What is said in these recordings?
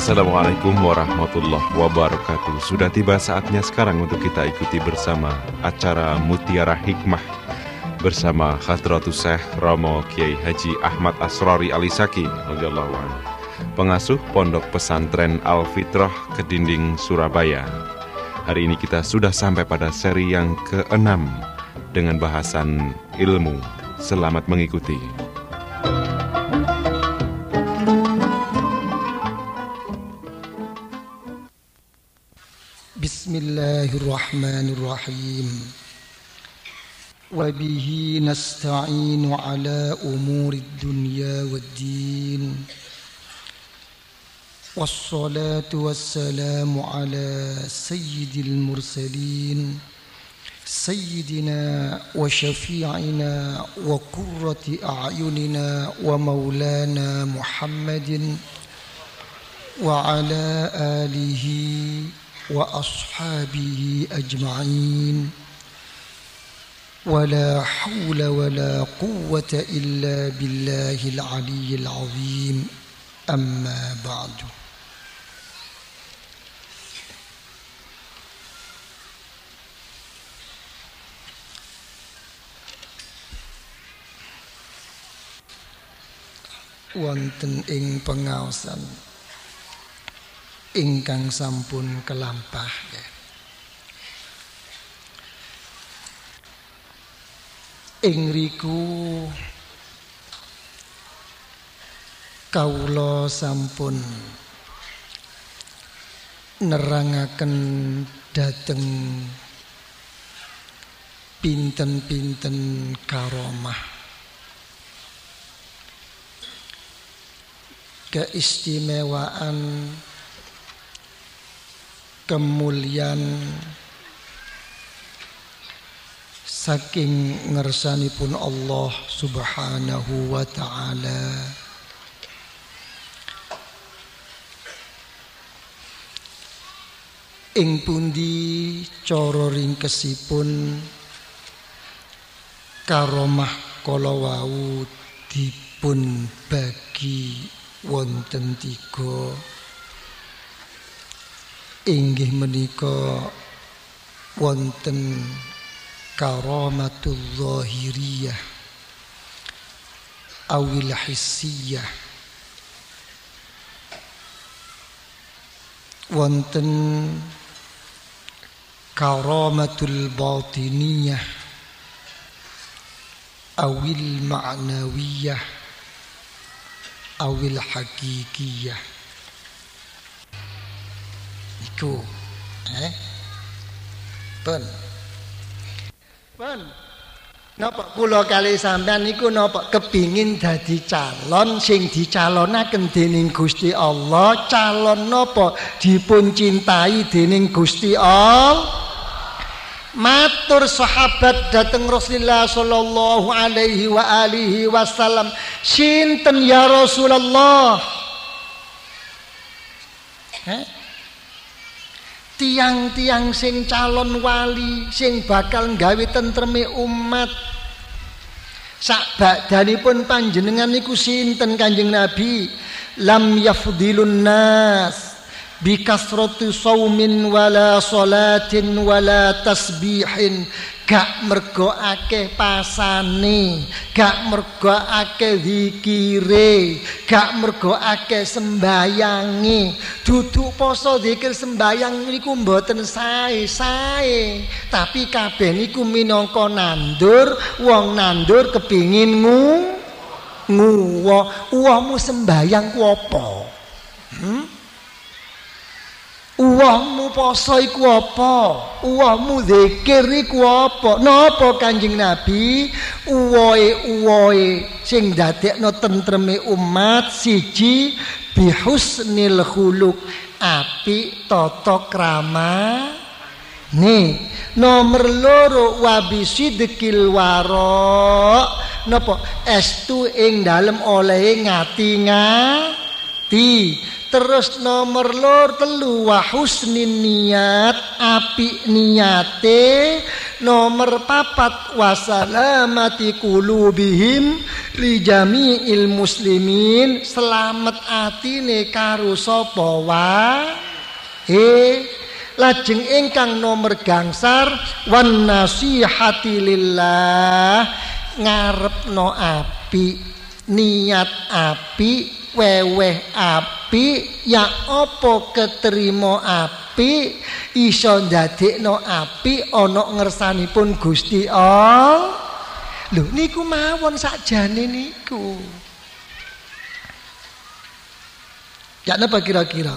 Assalamualaikum warahmatullahi wabarakatuh. Sudah tiba saatnya sekarang untuk kita ikuti bersama acara Mutiara Hikmah bersama Hadratus Syekh Romo Kiai Haji Ahmad Asrori Alisaki radhiyallahu anhu, pengasuh Pondok Pesantren Al-Fitrah Kedinding Surabaya. Hari ini kita sudah sampai pada seri yang ke-6 dengan bahasan ilmu. Selamat mengikuti. Bismillahirrahmanirrahim. Wa bihi nasta'inu ala umurid dunya waddin. Wassalatu wassalamu ala sayyidil mursalin sayyidina wa syafi'ina wa qurrati a'yunina wa maulana Muhammadin wa ala alihi wa ashabihi ajma'in. Wala hawla wala quwwata illa billahil aliyyil azim. Amma ba'du. Wonten ing pengaosan ingkang sampun kelampah ya. Ing riku kawula sampun nerangaken dhateng pinten-pinten karomah, keistimewaan, kemuliaan saking ngersanipun Allah Subhanahu wa ta'ala. Ing pundi cara ringkesipun karomah kala wau dipun bagi wonten 3. Inggih menika wonten karamatul zahiriyah awil hissiyah, wonten karamatul batiniyah awil ma'nawiyah awil hakikiyah. Iku Pun napa kula kali sampean niku napa kepingin dadi calon sing dicalonaken dening Gusti Allah, calon napa dipun cintai dening Gusti Allah. Matur sahabat dateng Rasulullah sallallahu alaihi wa alihi wasallam, sinten ya Rasulullah? Tiang-tiang sing calon wali sing bakal nggawe tentreme umat sak bakdanipun panjenengan niku sinten Kanjeng Nabi? Lam yafdilun nas bi kasrati saumin wala salatin wala tasbihin, gak mergo akeh pasane, gak mergo akeh zikire, gak mergo akeh sembayange. Duduk poso zikir sembayang niku mboten sae-sae, tapi kabeh niku minangka nandur. Wong nandur kepingin uwahmu sembayang ku apa? Uwahmu poso iku apa? Uwahmu zikir iku apa? Napa Kanjeng Nabi? Uwohe sing dadekno tentreme umat, siji bihusnil khuluq, apik tata krama. Nomor 2 wabisidqil wara, napa estu ing dalem olehe ngati-ngati. Terus nomor lor telu wa husnin niat, apik niate. Nomor papat wasalamati qulubihim li jami'il muslimin, selamat atine karo sapa wae. Lajeng ingkang nomor gangsar wan nasihati lillah, ngarepno apik, niat apik, weweh apik, ya apa keterima apik, iso ndadekno apik ana ngersanipun Gusti Allah. Lho niku mawon sakjane niku. Ya napa kira-kira?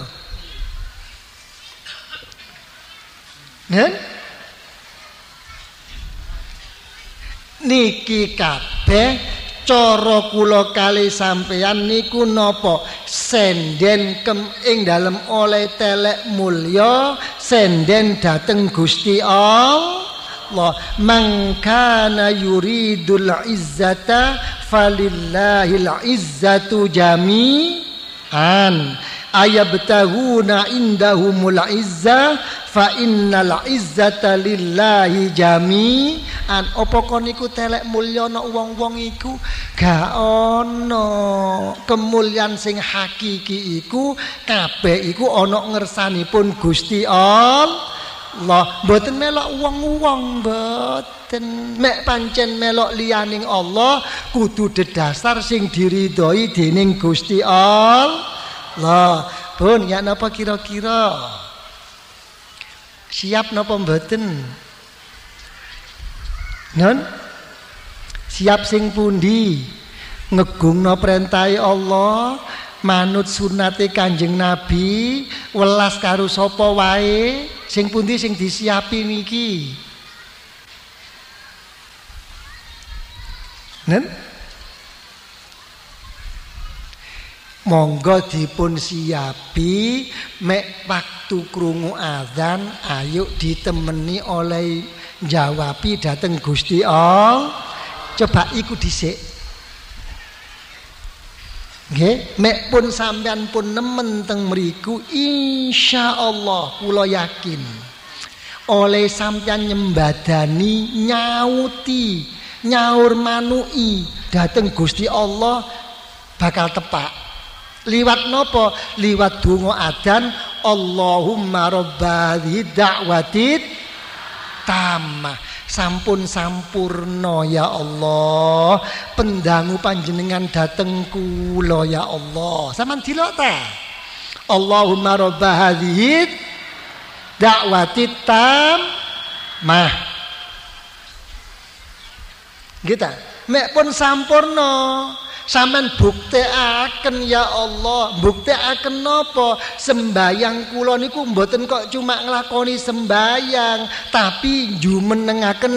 Niki kabeh cara kula kali sampeyan niku napa senden ing dalem oleh telek mulya, senden dateng Gusti Allah. Man kana yuridul izzata falillahil izzatu jami'an ayabtaguna indahumul izzah fa innal izzata lillahi jami'an. Apa kon niku telek mulya ana wong-wong iku? Gak ana. Kemuliaan sing hakiki iku kabeh iku ana ngersanipun Gusti Allah. Mboten melok wong-wong, mboten. Mek pancen melok liyaning Allah kudu dedasar sing diridhoi dening Gusti Allah. Pun ya napa kira-kira? Siap napa mboten? Non? Siap sing pundi? Ngegungno perintahe Allah, manut sunate Kanjeng Nabi, welas karo sapa wae, sing pundi sing disiapi niki? Nen? Monggo dipun siapi, mek waktu krungu adzan ayo ditemeni oleh jawabi dateng Gusti Allah. Coba iku dhisik. Nggih, mek pun sampean pun nemen teng mriku insyaallah kula yakin oleh sampean nyembadani nyauti nyaur manui dateng Gusti Allah bakal tepak. Liwat nopo? Liwat donga adzan Allahumma rabba da'watit tamah, sampun sampurno ya Allah, pendangu panjenengan dateng kula ya Allah. Sampeyan delok ta? Allahumma rabba hadhihi da'watit tamah. Gitu. Mek pun sampurno. Sampeyan buktekaken ya Allah, buktekaken napa? Sembayang kula niku mboten kok cuma nglakoni sembayang, tapi jumenengaken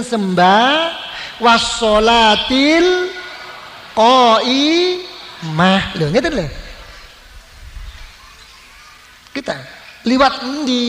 wassolatil qaimah. Lho ngeten lho. Kita liwat endi?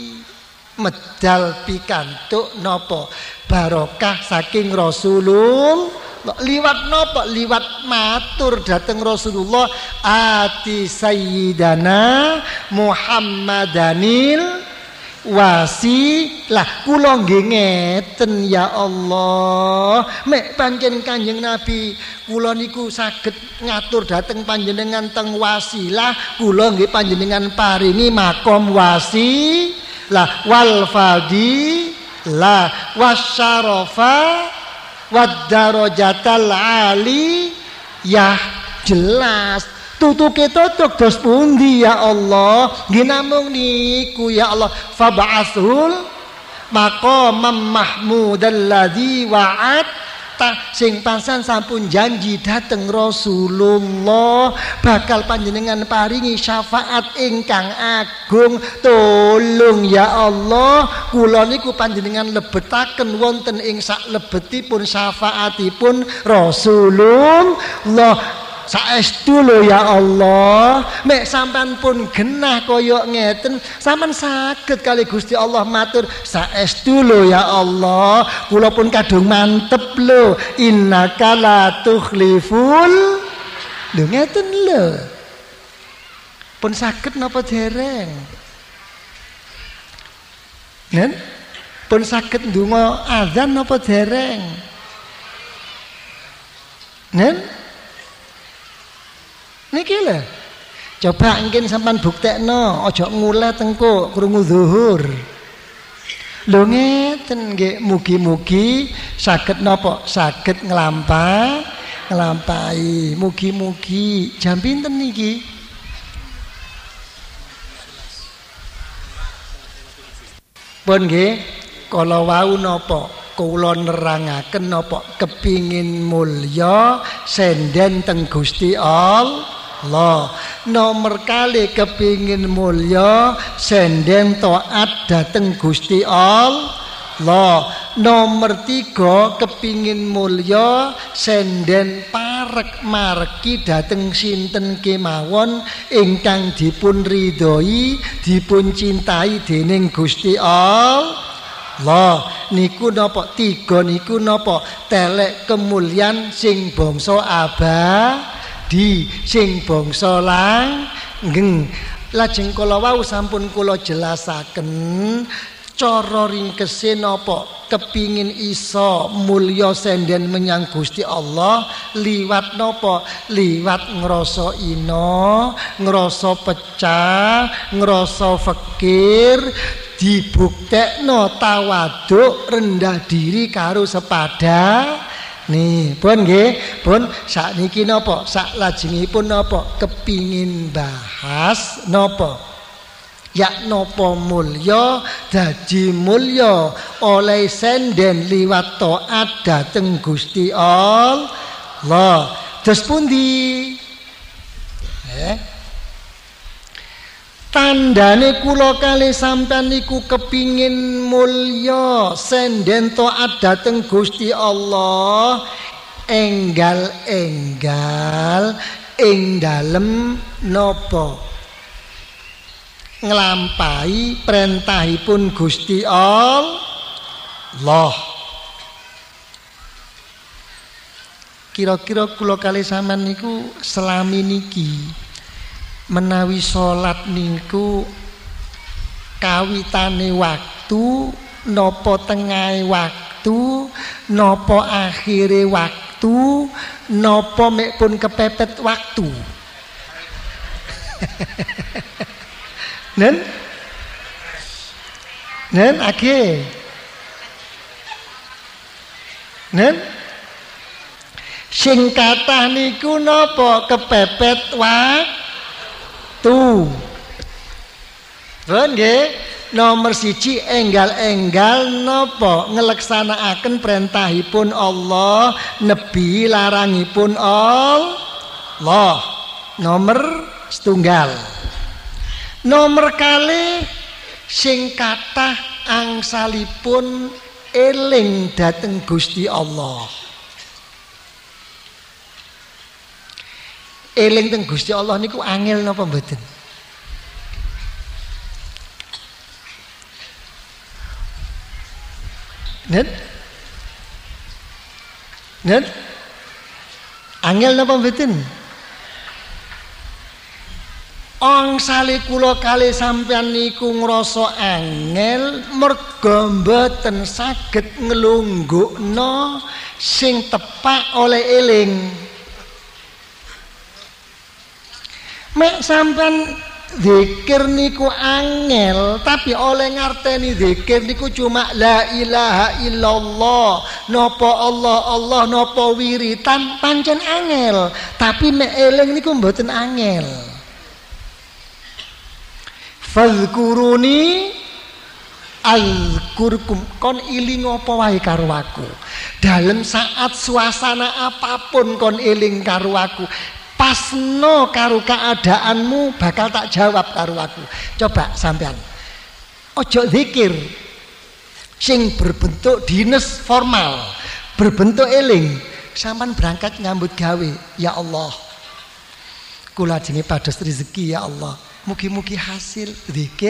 Medal pikantuk napa? Barokah saking Rasulullah. Liwat nopo? Liwat matur dateng Rasulullah ati sayyidana Muhammadanil wasilah. Kula nggih ngeten ya Allah, mek pancen Kanjeng Nabi kula niku saged ngatur dateng panjenengan teng wasilah, kula nggih panjenengan paringi makom wasilah wal fadilah wasyarafa wadarajatal ali. Ya jelas tutuke tutuk dos pundi ya Allah? Nggih namung niku ya Allah, fab'atsul maqamam mahmudal ladzi wa'adta, sing pasan sampun janji dateng Rasulullah bakal panjenengan paringi syafaat ingkang agung. Tolong ya Allah, kula niku panjenengan lebetaken wonten ing sak lebetipun syafaatipun Rasulullah. Saestu lho ya Allah, mek sampean pun genah kaya ngeten, sampean saged kali Gusti Allah matur saestu lho ya Allah, kula pun kadung mantep lho, innaka la tukhliful. Lho ngeten lho. Pun saged napa dereng? Nen? Pun saged ndonga azan napa dereng? Nen? Niki lho. Coba mungkin sampean buktekno, aja nguleh tengko krungu zuhur. Lho ngeten nggih, mugi-mugi saged napa? Saged nglampahi. Mugi-mugi jam pinten niki? Pun nggih, kala wau napa? Kula nerangaken napa? Kepingin mulya senden teng Gusti Allah. Nomor kali kepingin mulya senden taat dateng Gusti Allah. Nomor 3 kepingin mulya senden parek margi dateng sinten kemawon ingkang dipun ridhoi dipun cintai dening Gusti Allah. Niku napa? 3 niku napa? Telek kemuliaan sing bangsa abadi, sing bangsa langgeng. Lajeng kala wau sampun kula jelasaken cara ringkese napa? Kepingin iso mulya senden menyang Gusti Allah liwat napa? Liwat ngrasa ina, ngrasa pecah, ngrasa fakir, dibuktekno tawaduk rendah diri karo sepada. Nih, pun nggih, pun sakniki napa? Saklajengipun napa? Kepingin bahas napa? Ya napa mulya dadi mulya oleh senden liwat taat dhateng Gusti Allah. Dos pundi? Tandane kula kali sampean niku kepingin mulya senden taat dhateng Gusti Allah, enggal-enggal ing dalem napa? Nglampahi perintahipun Gusti Allah. Kira-kira kula kali sampean niku selami niki menawi salat niku kawitane waktu napa tengahe waktu napa akhire waktu napa mek pun kepepet waktu. Nen ake. Nen sing kathah niku napa? Kepepet waktu. Pun nggih, nomor 1 enggal-enggal napa? Ngeleksanakaken perintahipun Allah, nebi larangipun Allah. Nomor 1. Nomor kali sing kathah angsalipun eling dhateng Gusti Allah. Eling teng Gusti Allah niku angel napa mboten? Nen? Angel napa mboten? Angsale kula kali sampeyan niku ngrasa angel merga mboten saged nglunggukna sing tepak oleh eling. Mek sampeyan zikir niku angel tapi oleh ngarteni zikir niku cuma la ilaha illallah, napa Allah napa wiritan pancen angel, tapi mek eling niku mboten angel. Fadhkuruni azkurkum, kon iling apa wae karo aku. Dalam saat suasana apapun kon eling karo aku. Pasno karo keadaanmu bakal tak jawab karo aku. Coba sampean. Ojo zikir sing berbentuk dinas formal, berbentuk eling. Sampean berangkat nyambut gawe, ya Allah. Kula jenenge pados rezeki ya Allah. Mugi-mugi hasil zikir.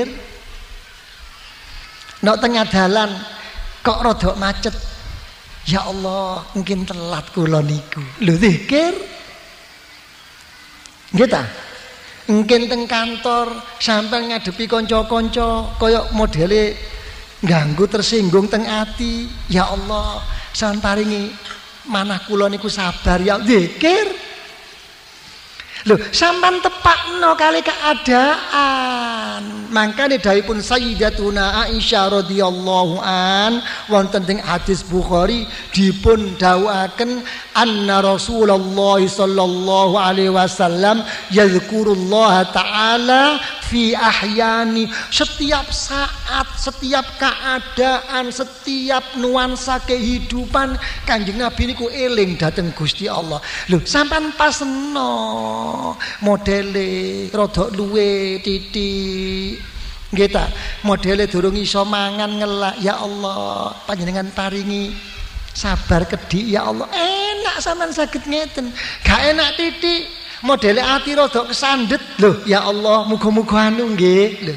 Nek tengah dalan kok rada macet. Ya Allah, mungkin telat kula niku. Lho zikir. Nggih ta? Mungkin teng kantor sampai ngadepi konco-konco koyok modele ganggu tersinggung teng ati. Ya Allah, sampeyan paringi manah kula niku sabar ya zikir. Loh, sampean tepakno kali keadaan. Mangkane dawuhipun Sayyidatuna Aisyah radhiyallahu an wonten teng hadis Bukhari dipun dawuhaken anna Rasulullah sallallahu alaihi wasallam yadhkurullaha taala fi ahyani, setiap saat, setiap keadaan, setiap nuansa kehidupan Kanjeng Nabi niku eling dhateng Gusti Allah. Lho, sampean pasno modele rada luwe titik nggih ta, modele durung iso mangan ngelak, ya Allah panjenengan paringi sabar kedik ya Allah. Enak sampean saged ngeten. Gak enak titik modele ati rada kesandet, lho ya Allah muga-muga anu nggih lho.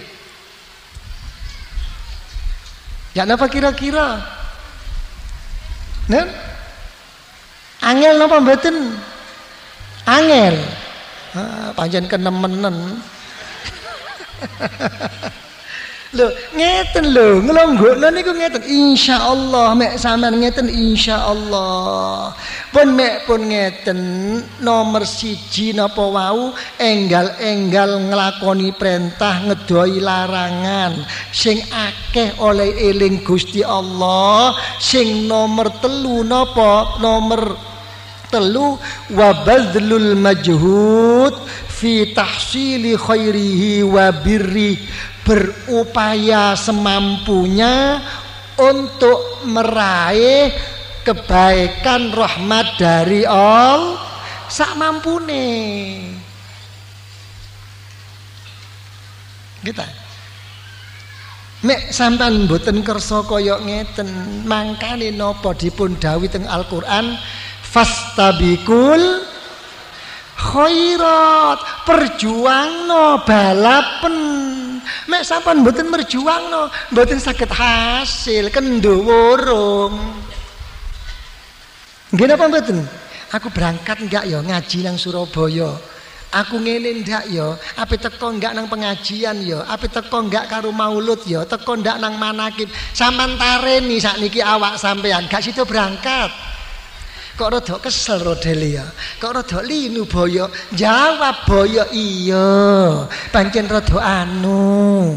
Ya napa kira-kira? Nen? Angel napa mboten? Angel. Panjen kenemenen. Lho ngeten lho, nglonggokno niku ngeten insyaallah, mek sampean ngeten insyaallah. Pun mek pun ngeten nomor 1 napa wau enggal-enggal nglakoni perintah ngedoi larangan. Sing akeh oleh eling Gusti Allah. Sing nomor 3 napa? Nomor 3 wa badlul majhud fi tahsili khairihi wa birri, berupaya semampunya untuk meraih kebaikan rahmat dari Allah sak mampune. Kita nek sampean mboten kersa kaya ngeten, mangkane napa dipun dawuh teng Al-Qur'an fastabikul khairat, perjuangno balapen. Mek sampean mboten merjuangno, mboten saged hasil kendo worong. Nggih napa mboten? Aku berangkat enggak ya ngaji nang Surabaya. Aku ngene ndak ya, ape teko enggak nang pengajian ya, ape teko enggak karo maulud ya, teko ndak nang manakib. Sampean tareni sakniki awak sampean gak sida berangkat. Kok rada kesel rodele ya, kok rada linu boyo, jawab boyo iya, pancen rada anu.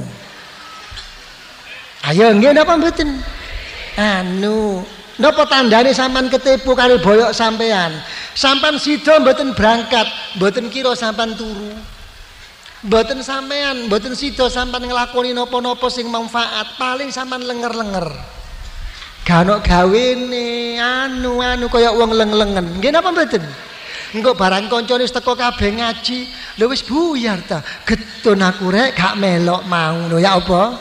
Ayo nggih napa mboten? Anu, napa tandane sampean ketipu karo boyo sampean? Sampean sida mboten berangkat, mboten kira sampean turu. Mboten sampean, mboten sida sampean nglakoni napa-napa sing manfaat, paling sampean lenger-lenger. Ganok gawene anu kaya wong leng-lengen. Nggih napa mboten? Engko barang kancane wis teko kabeh ngaji, lho wis buyar ta. Getun aku rek gak melok mau lho ya apa?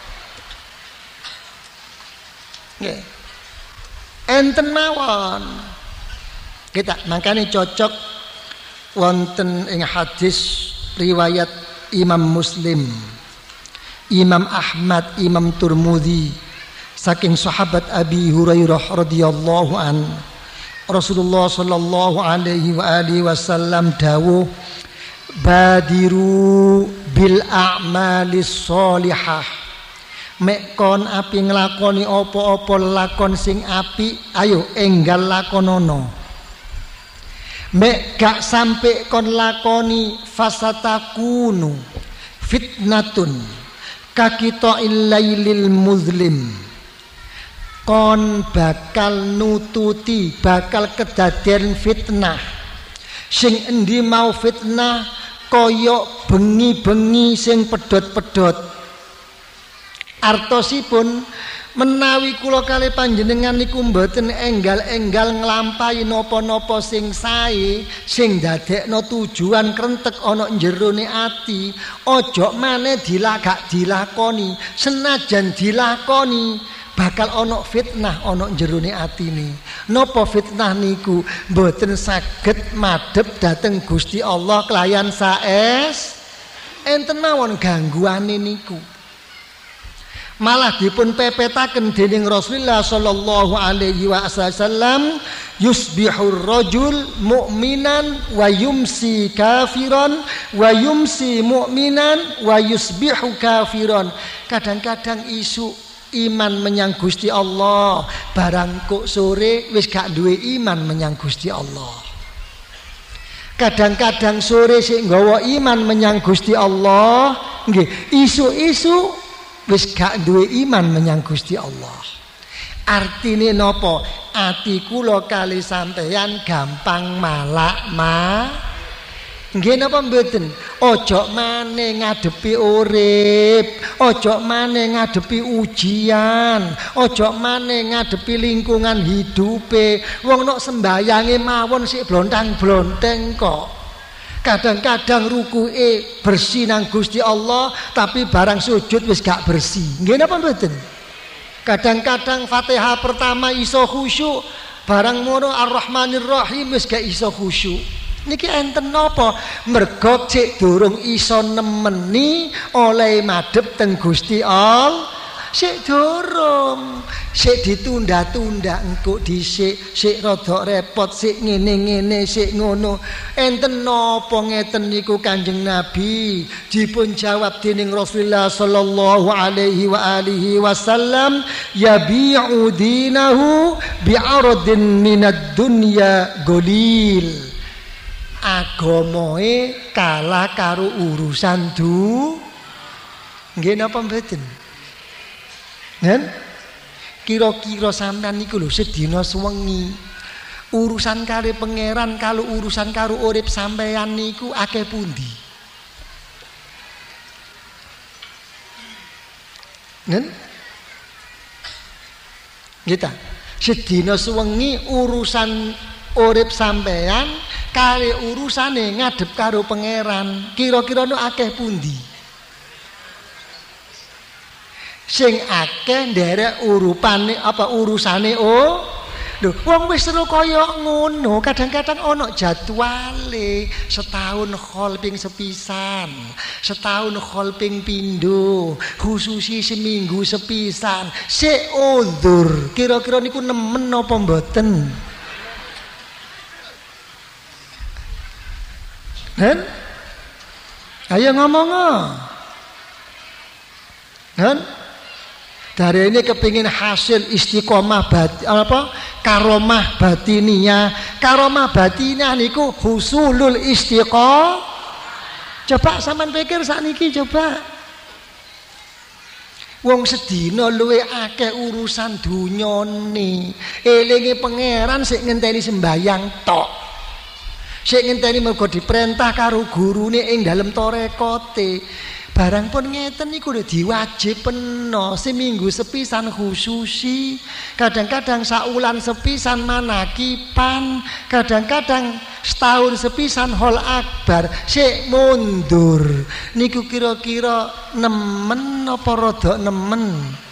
Nggih. Enten mawon. Kita makane cocok wonten ing hadis riwayat Imam Muslim, Imam Ahmad, Imam Turmudi saking sahabat Abi Hurairah radhiyallahu an, Rasulullah sallallahu alaihi wa alihi wasallam dawuh badiru bil a'malis sholihah, mek kon api nglakoni apa-apa lakon sing apik ayo enggal lakonono. Mek gak sampai kon lakoni fasatakunu fitnatun kakita illailil muzlim, kon bakal nututi, bakal kedaden fitnah. Sing endi mau fitnah koyok bengi-bengi sing pedhot-pedhot. Artosipun menawi kula kali panjenengan niku mboten enggal-enggal nglampahi napa-napa sing sae, sing dadekno tujuan krentek ana jerone ati, ojo maneh gak dilakoni. Senajan dilakoni bakal ono fitnah ono jerone atine. Napa fitnah niku? Mboten saged madhep dhateng Gusti Allah kelayan saes enten mawon gangguane niku. malah dipun pepetaken dening Rasulullah sallallahu alaihi wasallam, yusbihur rajul mu'minan wa yumsi kafiran wa yumsi mu'minan wa yusbihu kafiran. Kadang-kadang isu iman menyang Gusti Allah, barang kok sore wis gak duwe iman menyang Gusti Allah. Kadang-kadang sore sik nggawa iman menyang Gusti Allah, nggih, isu-isu wis gak duwe iman menyang Gusti Allah. Artine napa? Ati kula kali sampeyan gampang malak nggih napa mboten? Ojo maneh ngadepi urip, ojo maneh ngadepi ujian, ojo maneh ngadepi lingkungan hidupe. Wong nok sembayange mawon sik blontang-blonteng kok. Kadang-kadang rukuke bersih nang Gusti Allah, tapi barang sujud wis gak bersih. Nggih napa mboten? Kadang-kadang Fatihah pertama iso khusyuk, barang mono Ar-Rahmanir Rahim wis gak iso khusyuk. Niki enten napa? Mergo cek durung iso nemeni oleh madhep teng Gusti Allah. Sik durung, sik ditunda-tunda engko dhisik, sik rada repot, sik ngene-ngene, sik ngono. Enten napa ngeten niku Kanjeng Nabi dipun jawab dening Rasulullah sallallahu alaihi wa alihi wasallam, yabi'u dinahu bi'aradin minad dunya golil. Agamoe kalah karo urusan nggih napa mboten? Nen? Kira-kira sampean niku lho sedina sewengi urusan karo pangeran kalau urusan karo urip sampean niku akeh pundi? Nen? Kita sedina sewengi urusan urip sampean kali urusane ngadep karo pangeran, kira-kira no akeh pundi? Sing akeh nderek urupane apa urusane lho wong wis terus kaya ngono. Kadang-kadang ana jadwale, setahun khol ping sepisan, setahun khol ping pindho, khususi seminggu sepisan. Sik undur, kira-kira niku nemen apa mboten? Nen? Ayo ngomong. Nen? Dari ini kepingin hasil istiqomah karomah batiniyah. Karomah batiniyah niku husulul istiqomah. Coba sampean pikir sakniki coba. Wong sedina luwe akeh urusan dunyane. Elinge pangeran sik ngenteni sembayang tok. Sik ngenteni mergo diperintah karo gurune ing dalem tarekote. Barang pun ngeten niku lho diwajibno seminggu sepisan khususi, kadang-kadang saulan sepisan manakipan, kadang-kadang setahun sepisan hol akbar. Sik mundur niku kira-kira nemen apa rada nemen?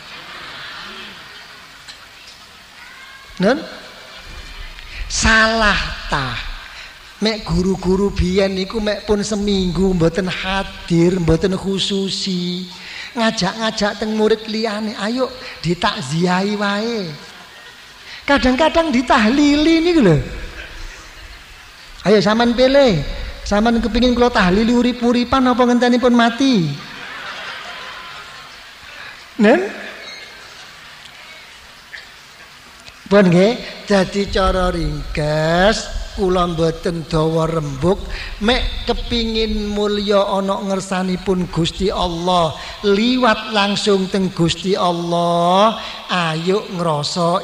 Nen? Salah tah. Mek guru-guru biyen niku mek pun seminggu mboten hadir, mboten khususi. Ngajak-ngajak teng murid liyane, ayo ditakziahi wae. Kadang-kadang ditahlili niku lho. Ayo sampean pilih. Sampean kepingin kula tahlili urip-uripan apa ngentenipun mati? Nen? Pun nggih, dadi cara ringkes kula mboten dawa rembug, mek kepingin mulya ana ngersanipun Gusti Allah, liwat langsung teng Gusti Allah, ayo ngrasa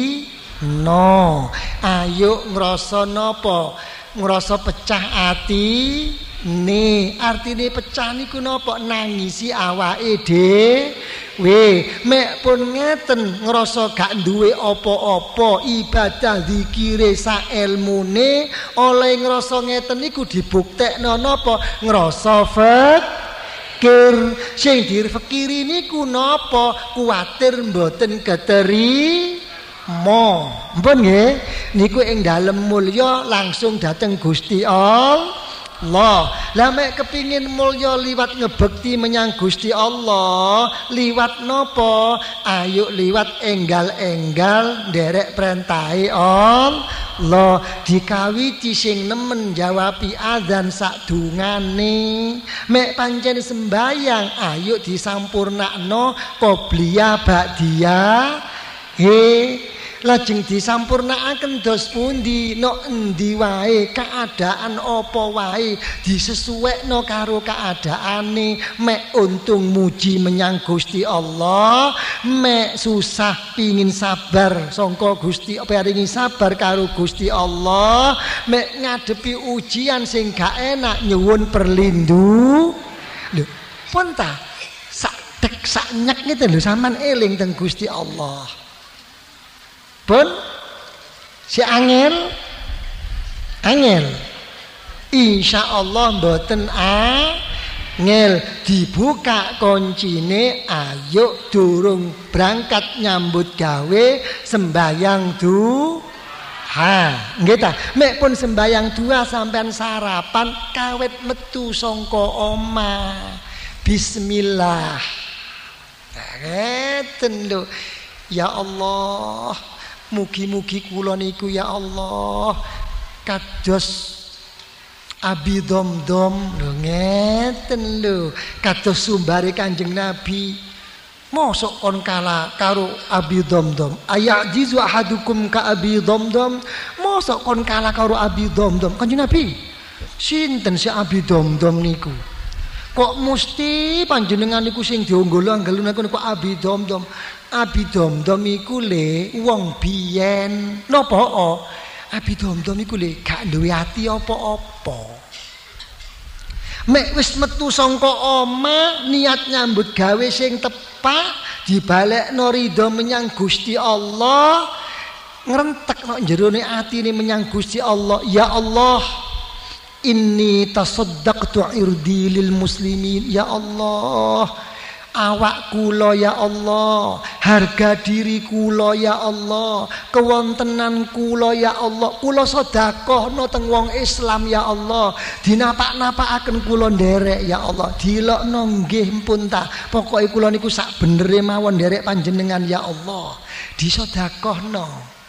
ayo ngrasa napa? Ngrasa pecah ati. Artine pecah niku napa? Nangisi awake dhewe. Mek pun ngeten ngrasa gak duwe apa-apa, ibadah zikire sak ilmune, oleh ngrasa ngeten niku dibuktekno napa? Ngrasa fikir. Sing dirfikiri niku napa? Kuwatir mboten keterima. Mpun nggih, niku ing dalem mulya langsung dateng Gusti Allah. Allah. Lah mek kepingin mulya liwat ngebekti menyang Gusti Allah, liwat nopo? Ayo liwat enggal-enggal nderek perintahe Allah. Dikawiti sing nemen jawabi adzan sadungane. Mek pancen sembayang, ayo disampurnakno qobliyah ba'diyah. Lajeng disampurnakaken dos pundi, no endi wae, keadaan apa wae disesuwekno karo keadaane. Mek untung muji menyang Gusti Allah, mek susah pingin sabar sangka Gusti, paringi sabar karo Gusti Allah. Mek ngadepi ujian sing gak enak nyuwun perlindu. Lho, pun ta sak tek sak nyek ngene lho sampean eling teng Gusti Allah. Pun si angel insyaallah mboten angel. Dibuka kuncine, ayo durung berangkat nyambut gawe sembayang duha. Nggih ta, mek pun sembayang duha sampean sarapan kawit metu saka omah bismillah. Ngeten lho. Ya Allah, mugi-mugi kula niku ya Allah kados Abi Domdom lho, ngeten lho, kados sumbare Kanjeng Nabi. Mosok kon kalah karo Abi Domdom? Ayajizu ahadukum ka Abi Domdom? Mosok kon kalah karo Abi Domdom? Kanjeng Nabi, sinten si Abi Domdom niku? Kok mesti panjenengan niku sing diunggul-unggulun niku Abi Domdom? Abi Domdom iku le wong biyen. Napa? Abi Domdom iku le gak duwe ati apa-apa. Mek wis metu saka omah niat nyambut gawe sing tepak, dibalekno ridho menyang Gusti Allah, ngrentekno jerone atine menyang Gusti Allah. Ya Allah, inni tasaddaqtu irdi lil muslimin. Ya Allah, awak kula ya Allah, harga diri kula ya Allah, kewontenan kula ya Allah, kula sedekahno teng wong Islam ya Allah, dinapak-napakaken kula nderek ya Allah, dilokno nggih pun ta, pokoke kula niku sak benere mawon nderek panjenengan ya Allah, disedekahno.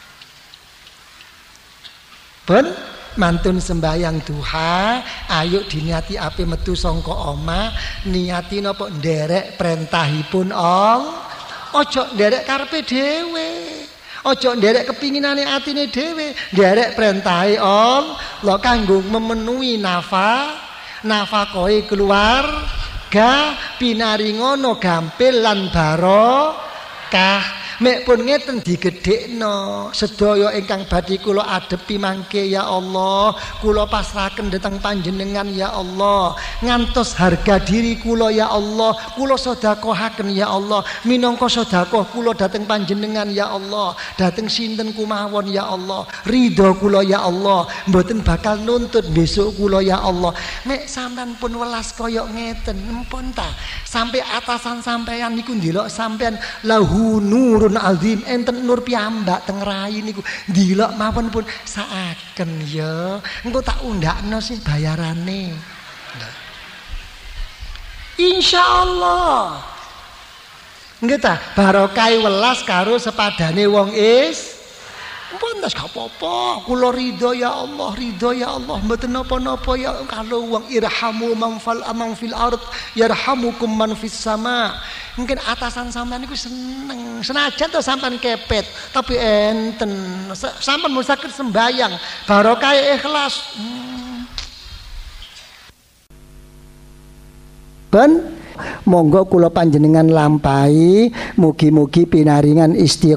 Ben mantun sembayang duha, ayo diniati ape metu sangka omah, niati napa nderek perintahipun Allah. Ojo nderek karepe dhewe, ojo nderek kepinginane atine dhewe, nderek perintahe Allah kanggo memenuhi nafakohe keluarga, pinaringono gampil lan barokah. Mek pun ngeten digedhekno sedaya ingkang badhe kula adepi mangke ya Allah, kula pasrahaken dhateng panjenengan ya Allah, ngantos harga diri kula ya Allah kula sedekahaken ya Allah, minangka sedekah kula dhateng panjenengan ya Allah, dhateng sinten kumawon ya Allah, ridho kula ya Allah, mboten bakal nuntut besok kula ya Allah. Mek sampean pun welas kaya ngeten empun ta, sampai atasan sampean niku ndelok sampean lahu nurun azim, enten nur piyambak teng rai niku, ndelok mawon pun saaken ya, engko tak undakno sih bayarane. Insyaallah nggih ta, barokah welas karo sepadane wong pun tas gak apa-apa, kula ridho ya Allah, ridho ya Allah, mboten napa-napa ya. Kalau wong irhamu man fil ard yarhamukum man fis sama. Mungkin atasan sampean niku seneng, senajan to sampean kepet, tapi enten sampean mung saged sembayang barokah ikhlas. Ben monggo kula panjenengan lampahi, mugi-mugi pinaringan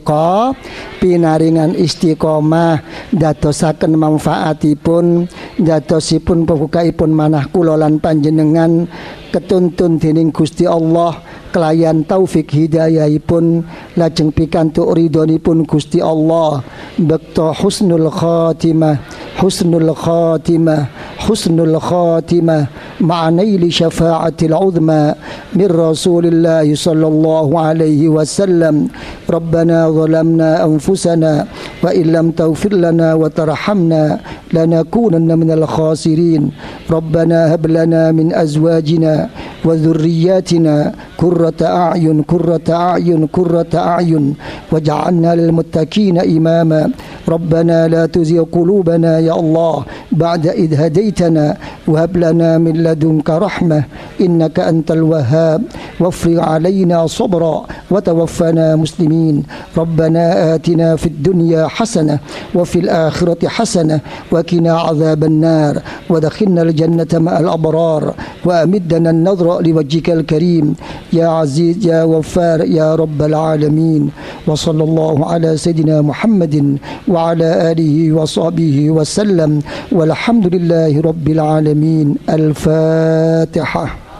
istiqomah dadosaken manfaatipun, dadosipun pembukaipun manah kula lan panjenengan ketuntun dening Gusti Allah kelayan taufik hidayahipun, lajeng pikantuk ridhonipun Gusti Allah, bekto husnul khatimah مع نيل شفاعة العظمى من رسول الله صلى الله عليه وسلم. ربنا ظلمنا أنفسنا وإن لم تغفر لنا وترحمنا لنكونن من الخاسرين. ربنا هب لنا من أزواجنا وذرياتنا قرة أعين واجعلنا للمتقين إماما. ربنا لا تزغ قلوبنا يا الله بعد إذ هديتنا وهب لنا من لدنك رحمة إنك أنت الوهاب وافرغ علينا صبرا وتوفنا مسلمين. ربنا آتنا في الدنيا حسنة وفي الآخرة حسنة وقنا عذاب النار ودخلنا الجنة مع الأبرار وأمدنا النظر لوجهك الكريم يا عزيز يا غفار يا رب العالمين. وصلى الله على سيدنا محمد وعلى آله وصحبه وسلم والحمد لله رب العالمين. الفاتحة.